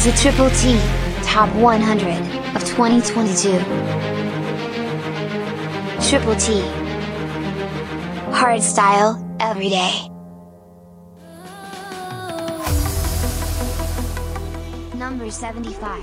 to Triple T Top 100 of 2022. Triple T Hardstyle every day. Number 75.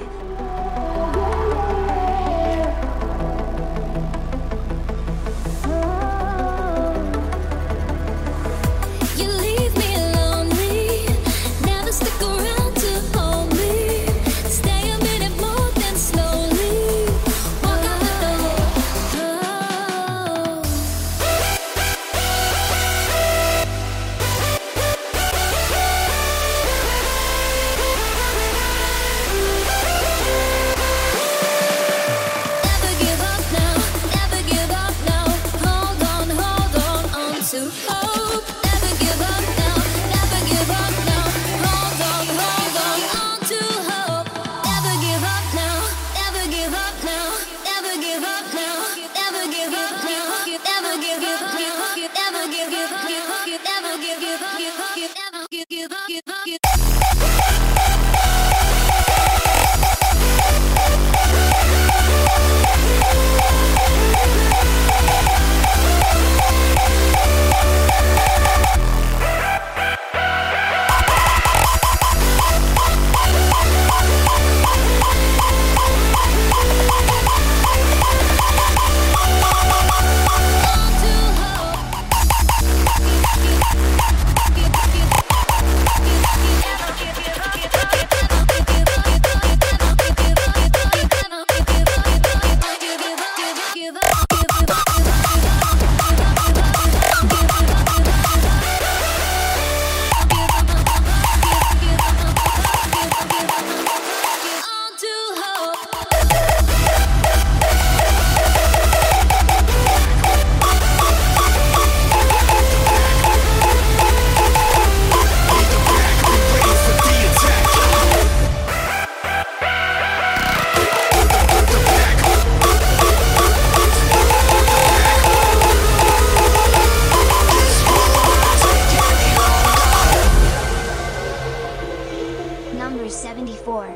Number 74.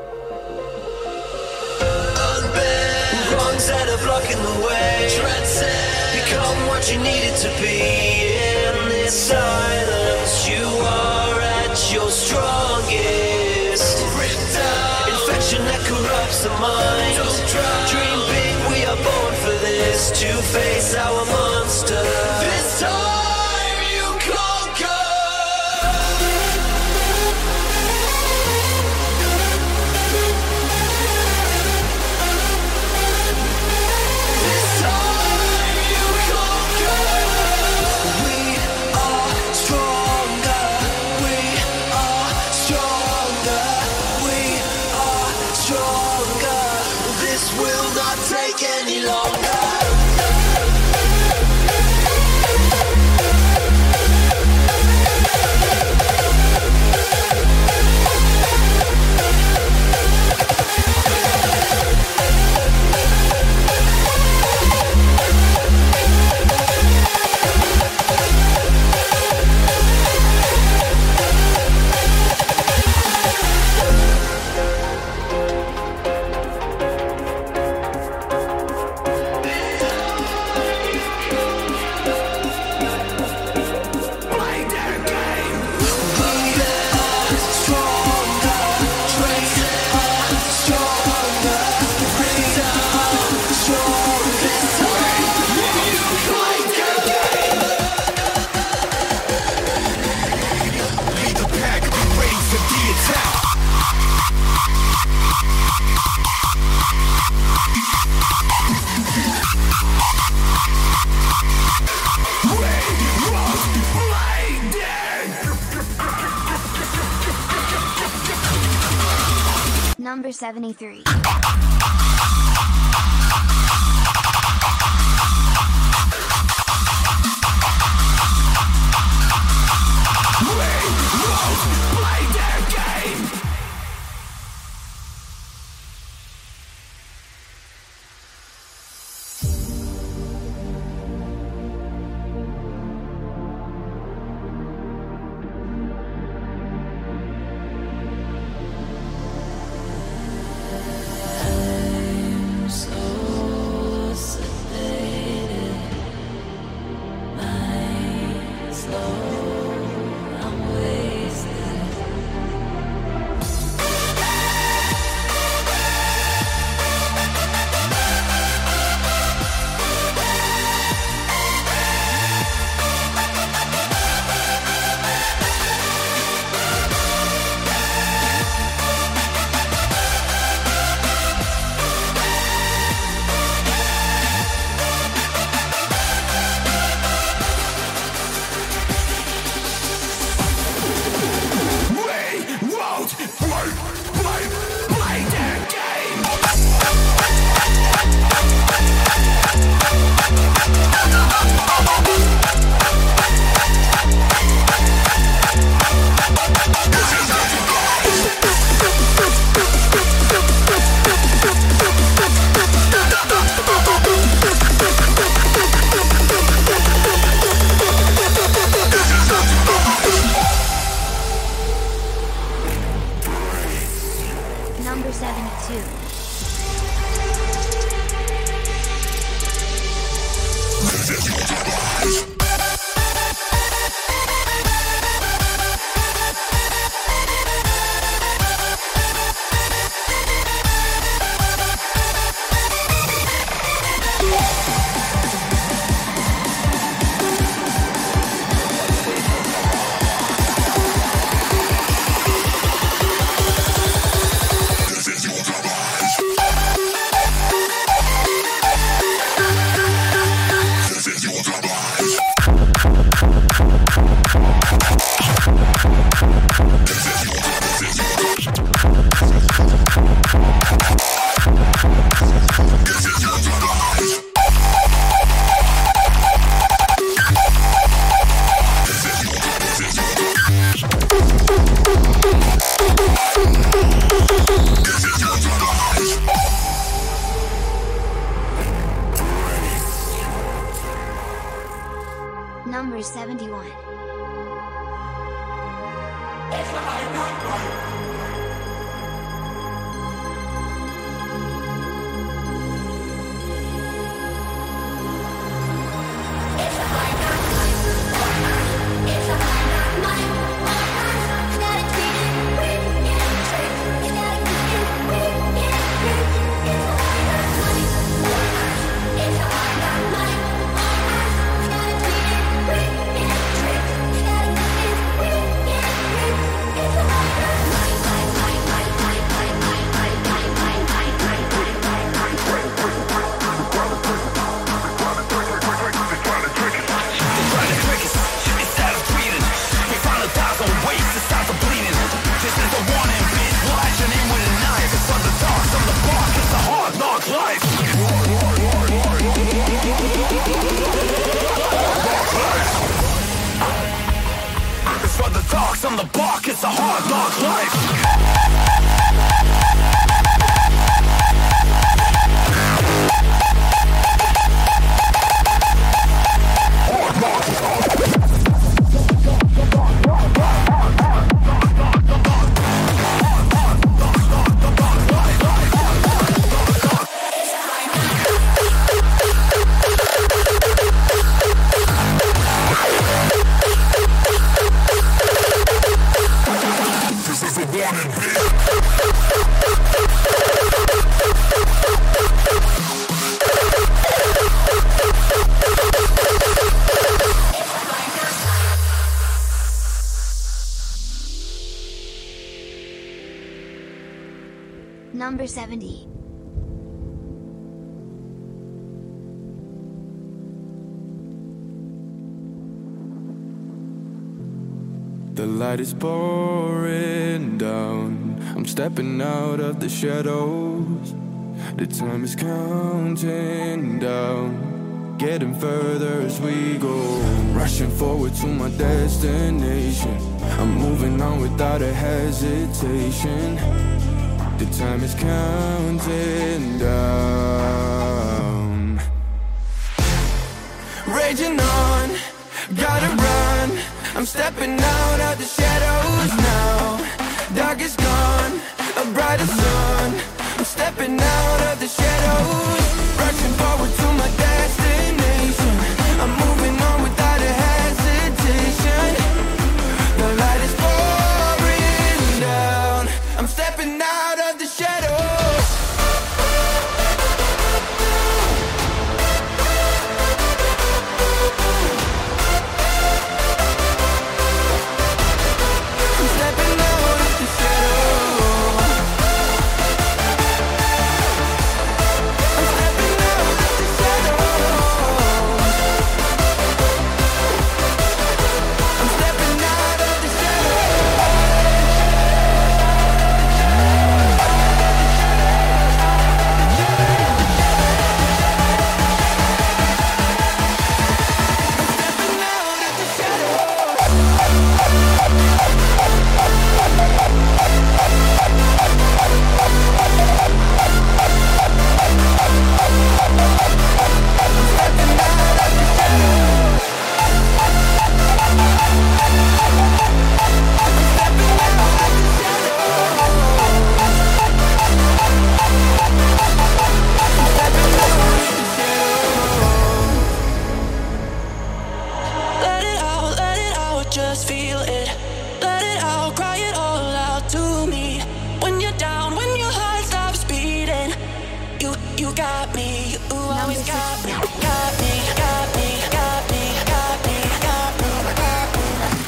Wrongs that are blocking the way. Become what you needed to be. In this silence, you are at your strongest. Infection that corrupts the mind. Dream big, we are born for this. To face our monster. This time you conquer. Any longer. Number 73. Number 72. Number 71. On the block, it's a hard knock life. Number 70. The light is pouring down. I'm stepping out of the shadows. The time is counting down, getting further as we go. Rushing forward to my destination. I'm moving on without a hesitation. The time is counting down. Raging on, gotta run. I'm stepping out of the shadows now. Dark is gone, a brighter sun. I'm stepping out of the shadows, rushing forward to my destination. I'm moving on without a hesitation. The light is pouring down. I'm stepping out of the shadows. I'm stepping out of the shadows. I'm You got me, you Number always got me, 60. got me, got me, got me, got me, got me, got me.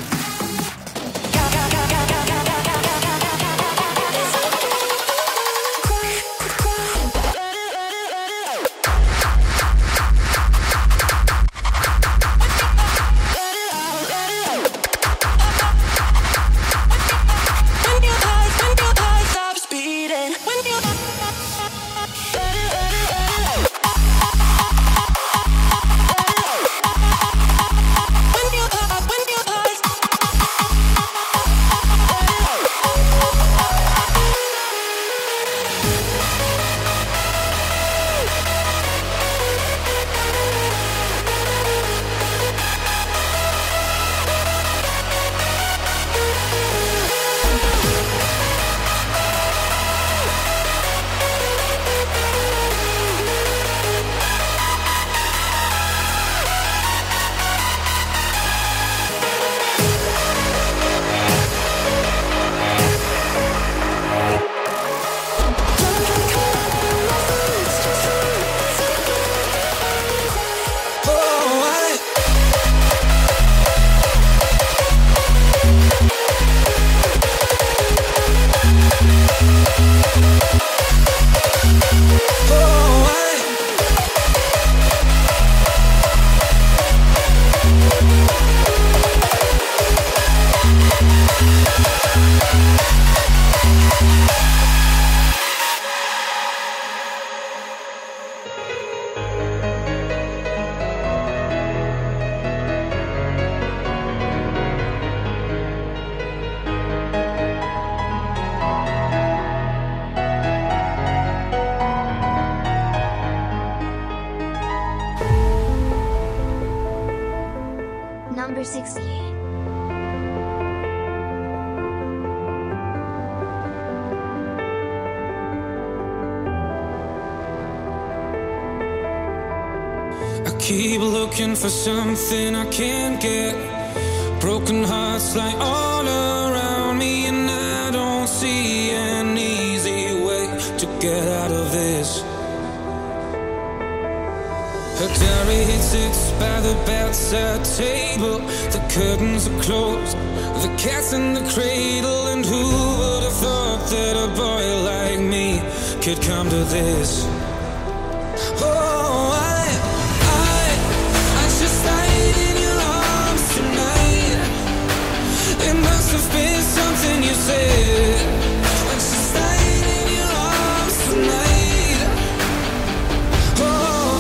Number 68. Keep looking for something I can't get. Broken hearts lie all around me, and I don't see an easy way to get out of this. Her diary sits by the bedside table. The curtains are closed, the cat's in the cradle. And who would have thought that a boy like me could come to this? Oh, I just died in your arms tonight. It must have been something you said. I just died in your arms tonight. Oh,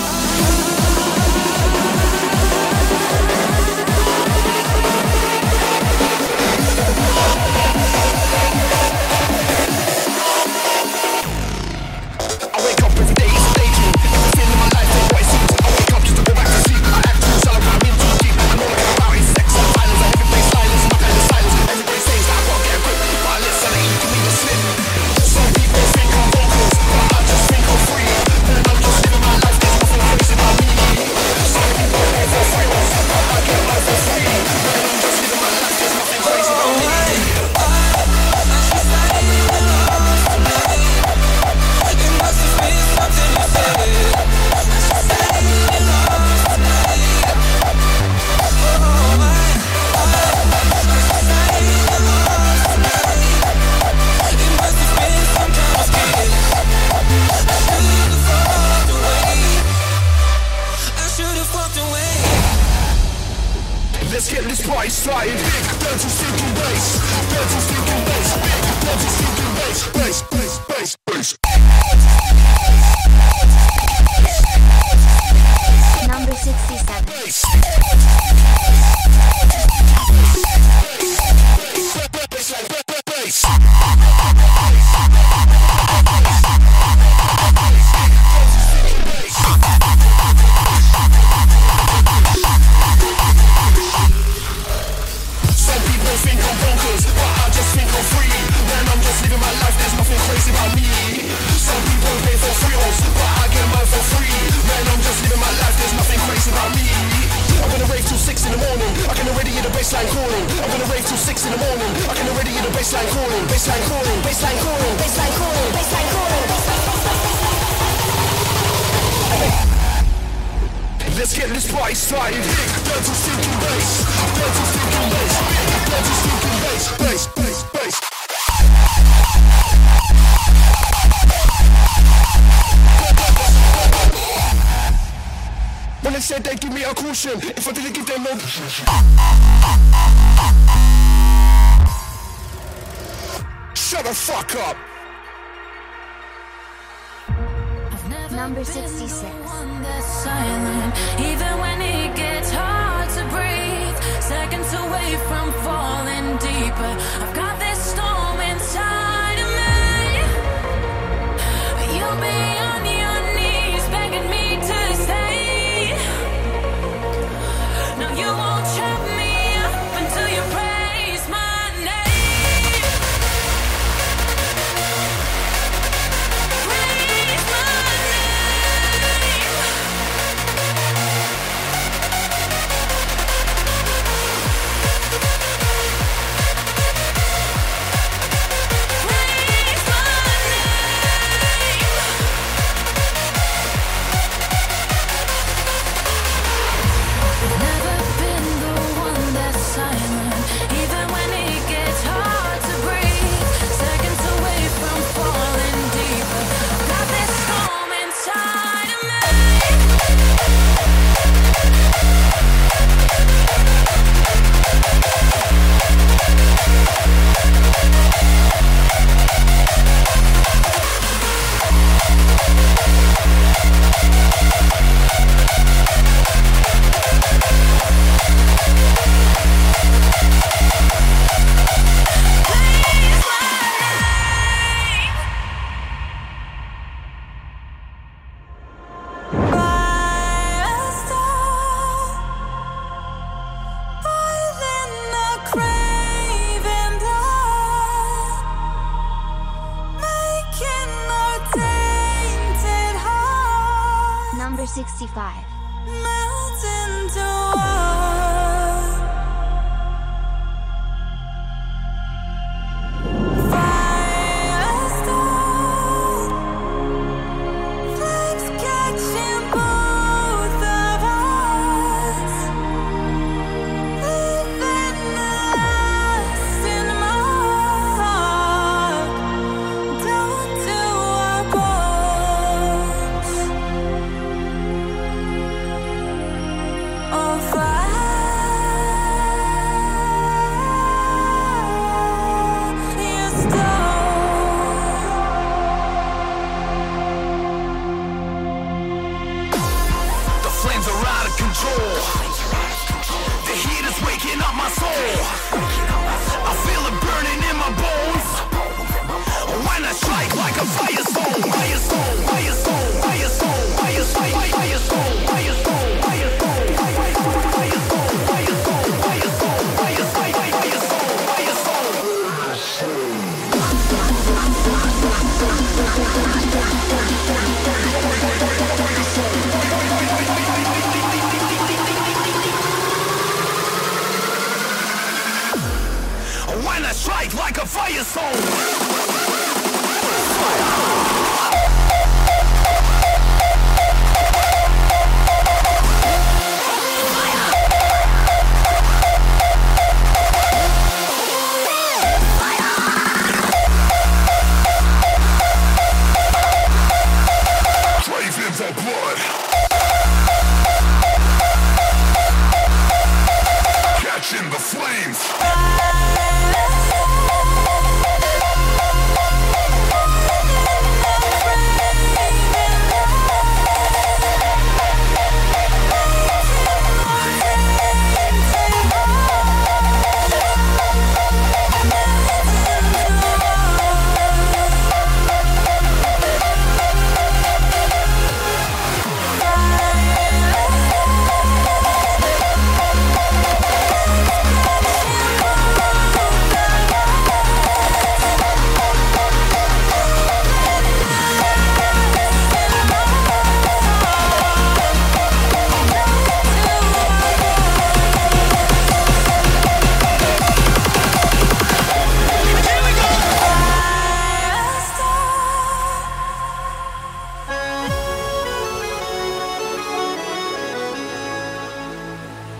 I wake up every day, it's a daydream. Everything in my life ain't what it seems. I wake up just to go back to sleep. I act too shallow, but I'm in too deep. And all I care about is sex and violence. And everybody's silence, my kind of silence. Everybody says that I gotta get a grip, but I let sanity give me the slip. Some people think I'm vocals, but I just think I'm free. And I'm just living my life, there's nothing crazy about me. Some people pay for thrills, but I get mine for free. And I'm just living my life, there's nothing crazy about me. Let's get this party started. Big dirty stinking bass, dirty stinking bass, big dirty stinking bass, bass, bass, bass, bass. Number 67. Bass. Some people think I'm bonkers, but I just think I'm free. Man, I'm just living my life, there's nothing crazy about me. Some people pay for thrills, but I get mine for free. Man, I'm just living my life, there's nothing crazy about me. I'm gonna rave till 6 in the morning, I can already hear the bassline calling. I'm gonna rave till 6 in the morning, I can already hear the bassline calling. Bassline calling, bassline calling, bassline calling, bassline calling, bassline calling. right side. Dirty stinking bass, dirty stinking bass, dirty stinking bass, bass, bass, bass. When they said they'd give me a caution if I didn't give them no. Shut the fuck up. Number 66. Silent, even when it gets hard to breathe, seconds away from falling deeper. I've got this storm inside of me. You'll be on your knees begging me to stay. No, you won't trap me up until you praise my name. Praise my name. Praise my name. Never been the one that's silent, even when it gets hard to breathe. Seconds away from falling deeper. Got this storm inside of me. Praise my name. Firestorm, boiling the craving blood, making our tainted heart Number 65. melt into one. Firestorm, flames catching both of us, leaving a lasting mark down to our bones. On fire, you The flames are out of control. The heat is waking up my soul. I feel it burning in my bones. When I strike like a fire soul, fire soul, fire soul, fire soul, fire soul, fire soul, fire soul, fire soul, fire soul, fire soul, fire soul, fire soul, fire soul, fire soul, fire soul. When I strike like a fire soul. Fire.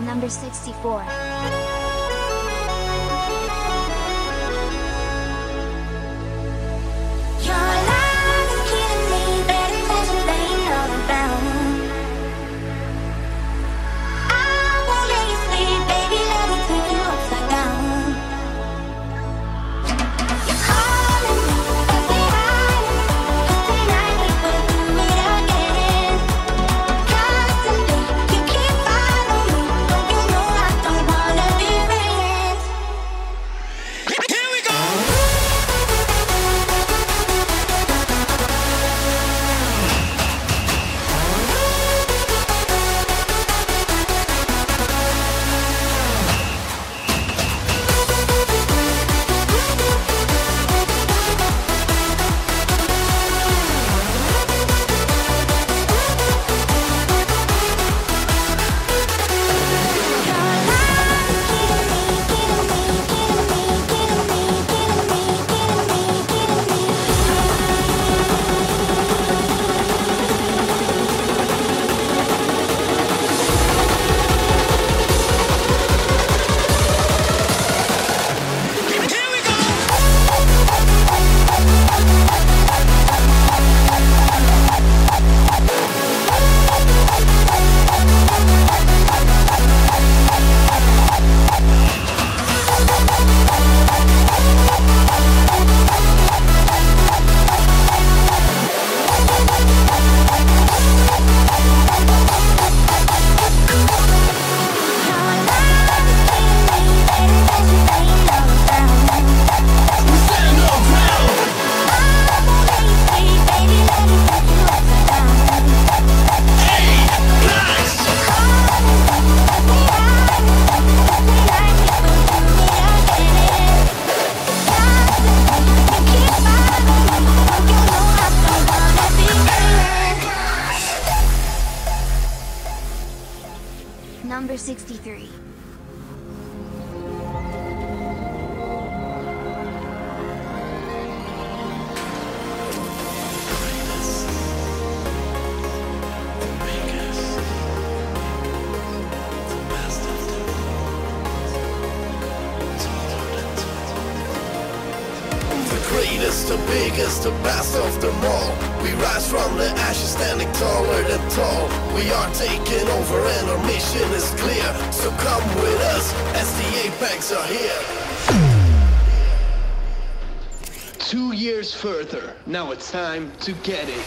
Number 64. Number 63. The biggest, the best of them all. We rise from the ashes, standing taller than tall. We are taking over and our mission is clear. So come with us as the Apex are here. 2 years further, now it's time to get it.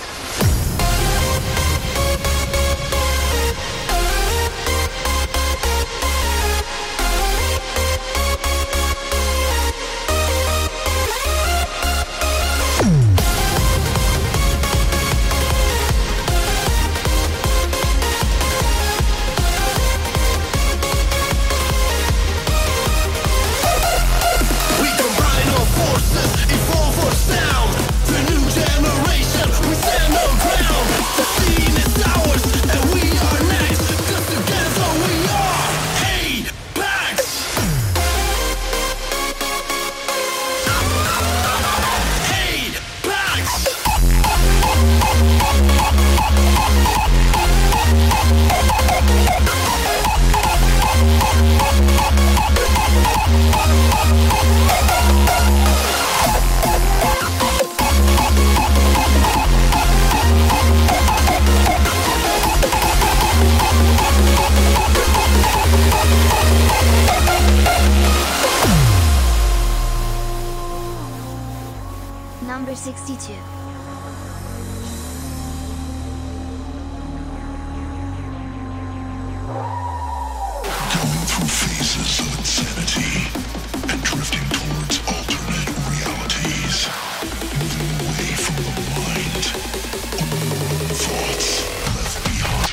Number 62. Going through phases of insanity and drifting towards alternate realities. Moving away from the mind. Only thoughts left behind.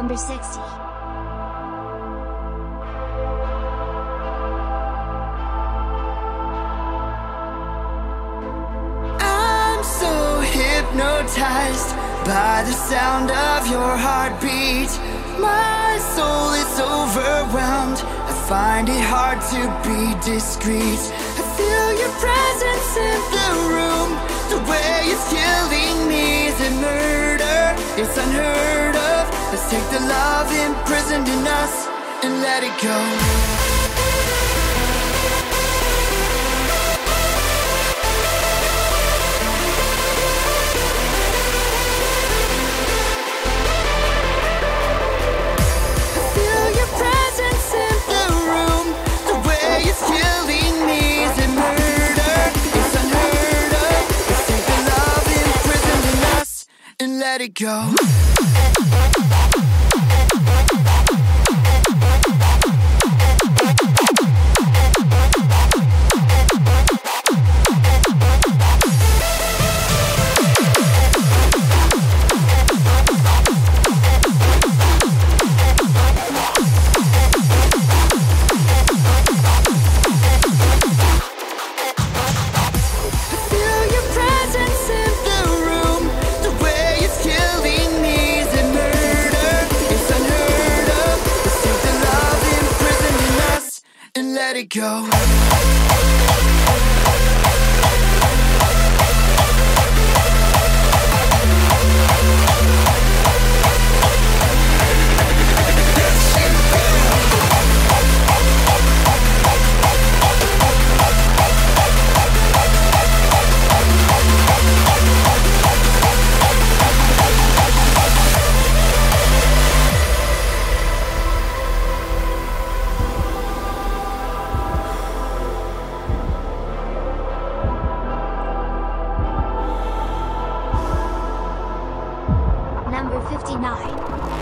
Number 60. I'm so hypnotized by the sound of your heartbeat. My soul is overwhelmed. I find it hard to be discreet. I feel your presence in the room. The way it's killing me is a murder. It's unheard of. Let's take the love imprisoned in us and let it go. Let it go. Let it go. Number 59.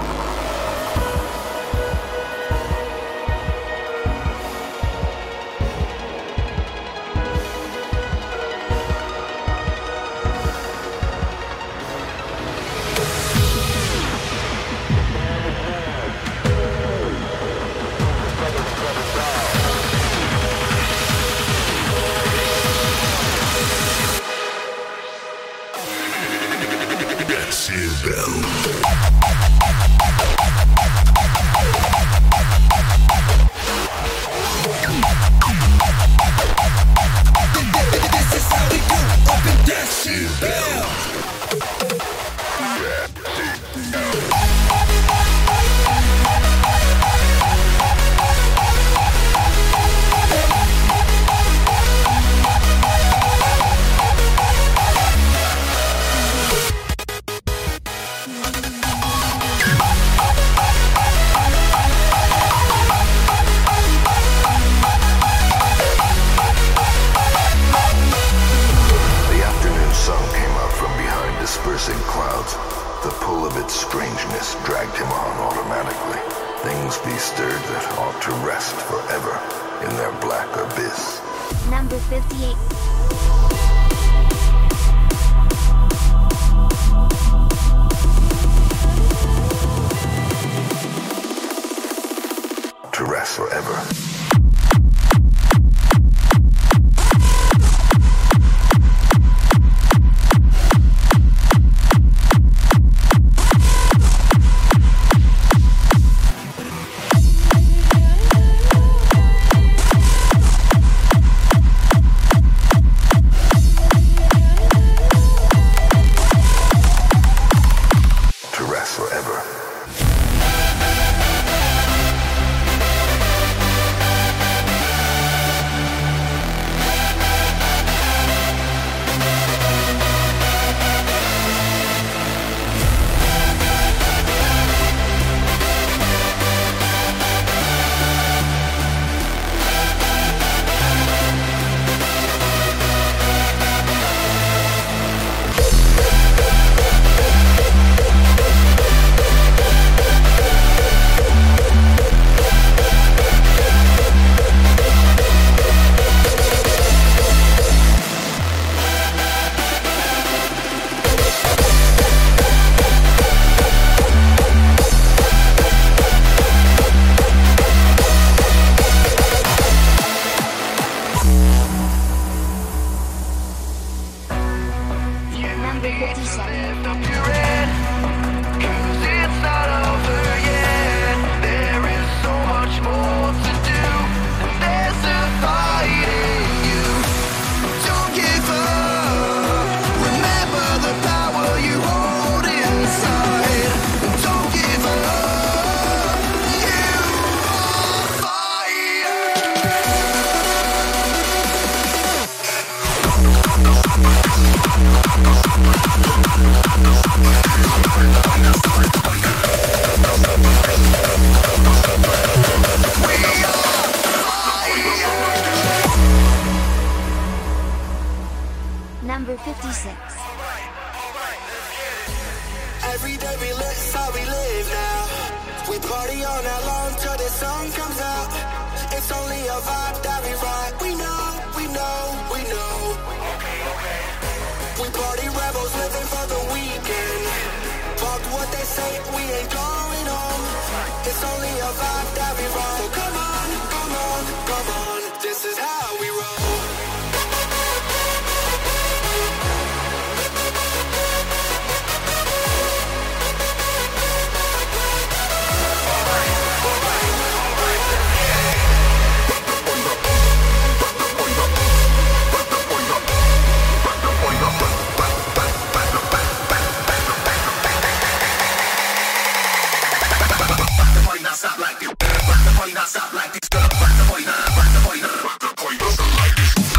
The pull of its strangeness dragged him on automatically. Things be stirred that ought to rest forever in their black abyss. Number 58. To rest forever. Forever. Number 57. Lift up your head, 'cause it's not over yet. There is so much more to do, and there's a fight in you. Don't give up. Remember the power you hold inside. Don't give up. You are fire. Number 56. Every day we live, it's how we live now. We party all night long till the sun comes out. It's only a vibe that we ride. We know, we know, we know. We party rebels living for the weekend. Fuck what they say, we ain't going home. It's only a vibe that we ride. So come on, come on, come on. This is how we roll. Stop like this. Rock the party, not stop like this. Rock the party, not stop like this.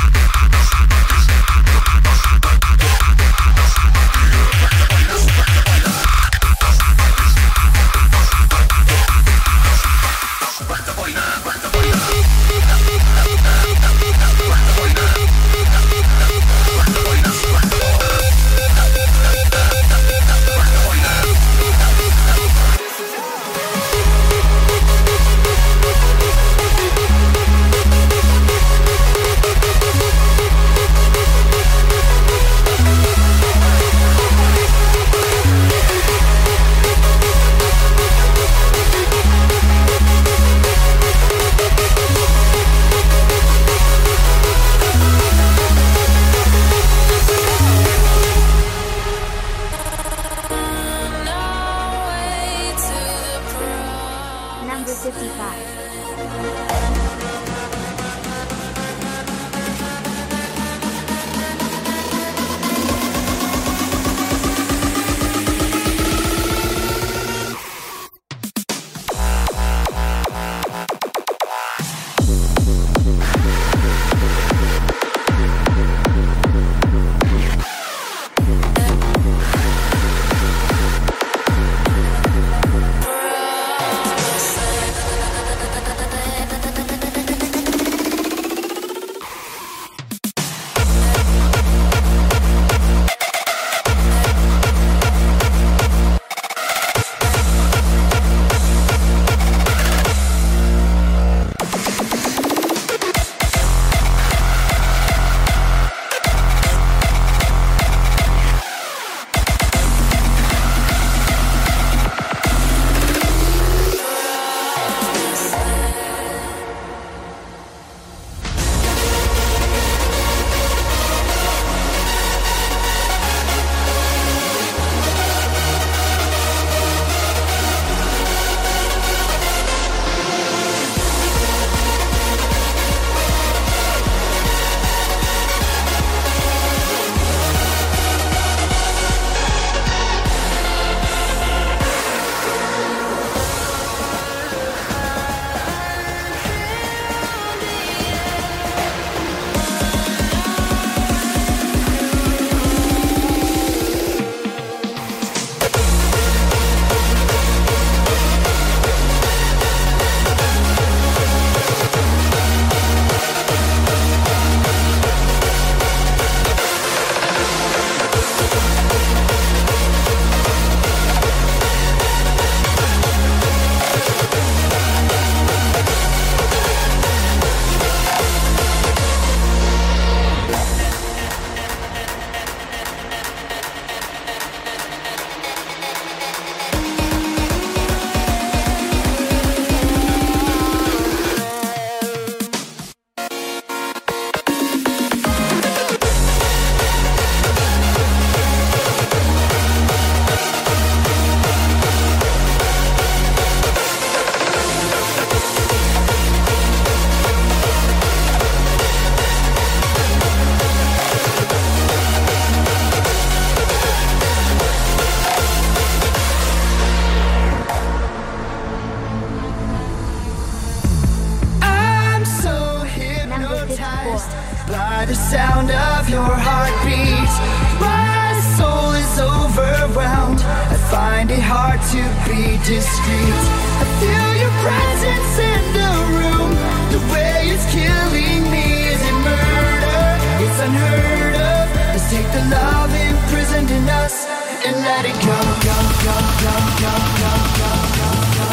sound of your heartbeat. My soul is overwhelmed. I find it hard to be discreet. I feel your presence in the room. The way it's killing me, is it murder? It's unheard of. Let's take the love imprisoned in us and let it go, go, go, go, go, go, go, go, go.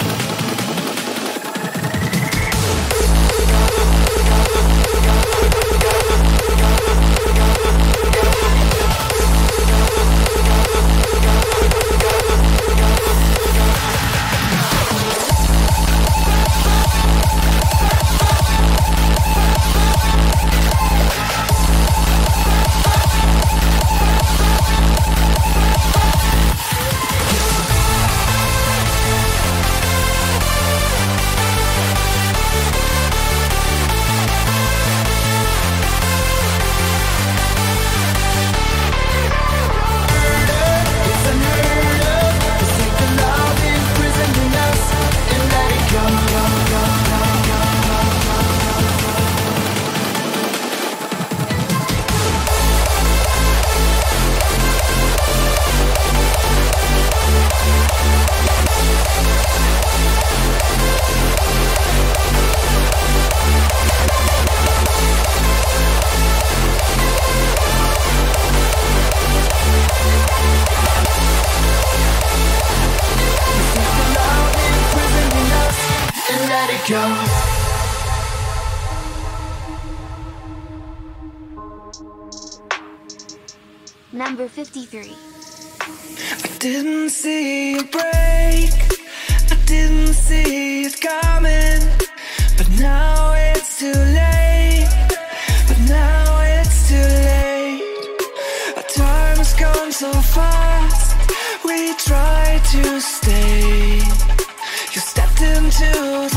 Number 53. I didn't see it break, I didn't see it coming, but now it's too late, but now it's too late. Our time has gone so fast, we tried to stay. You stepped into the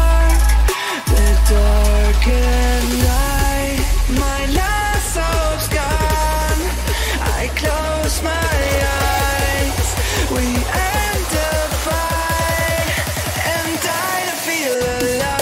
darkened night. My last hope's gone, I close my eyes. We end the fight and die to feel alive.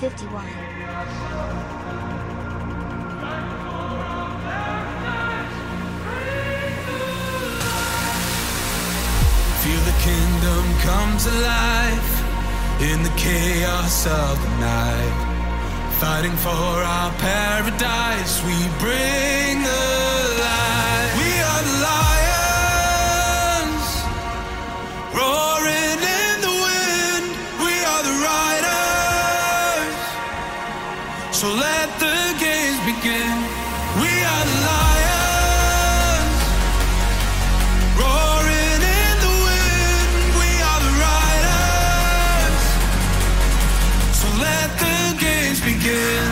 51. Feel the kingdom comes alive in the chaos of the night. Fighting for our paradise, we bring the light. We are the lions, roaring in the wind. We are the riders, so let the games begin. We are the lions, roaring in the wind. We are the riders, so let the games begin.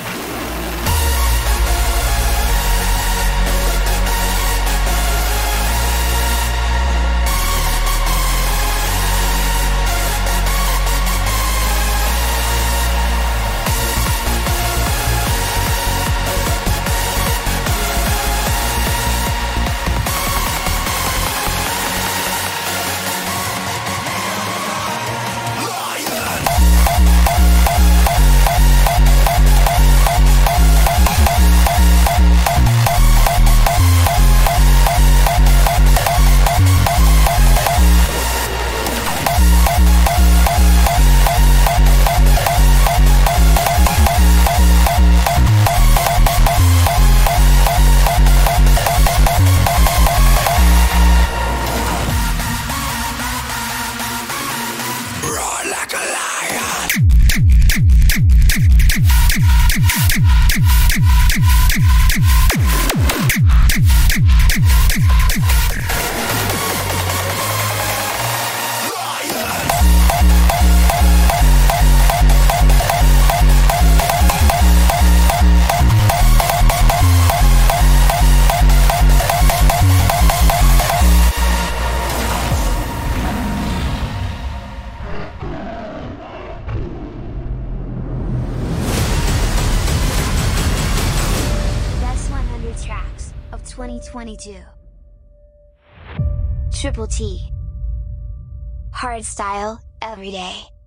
Best 100 tracks of 2022. Triple T. Hardstyle, every day.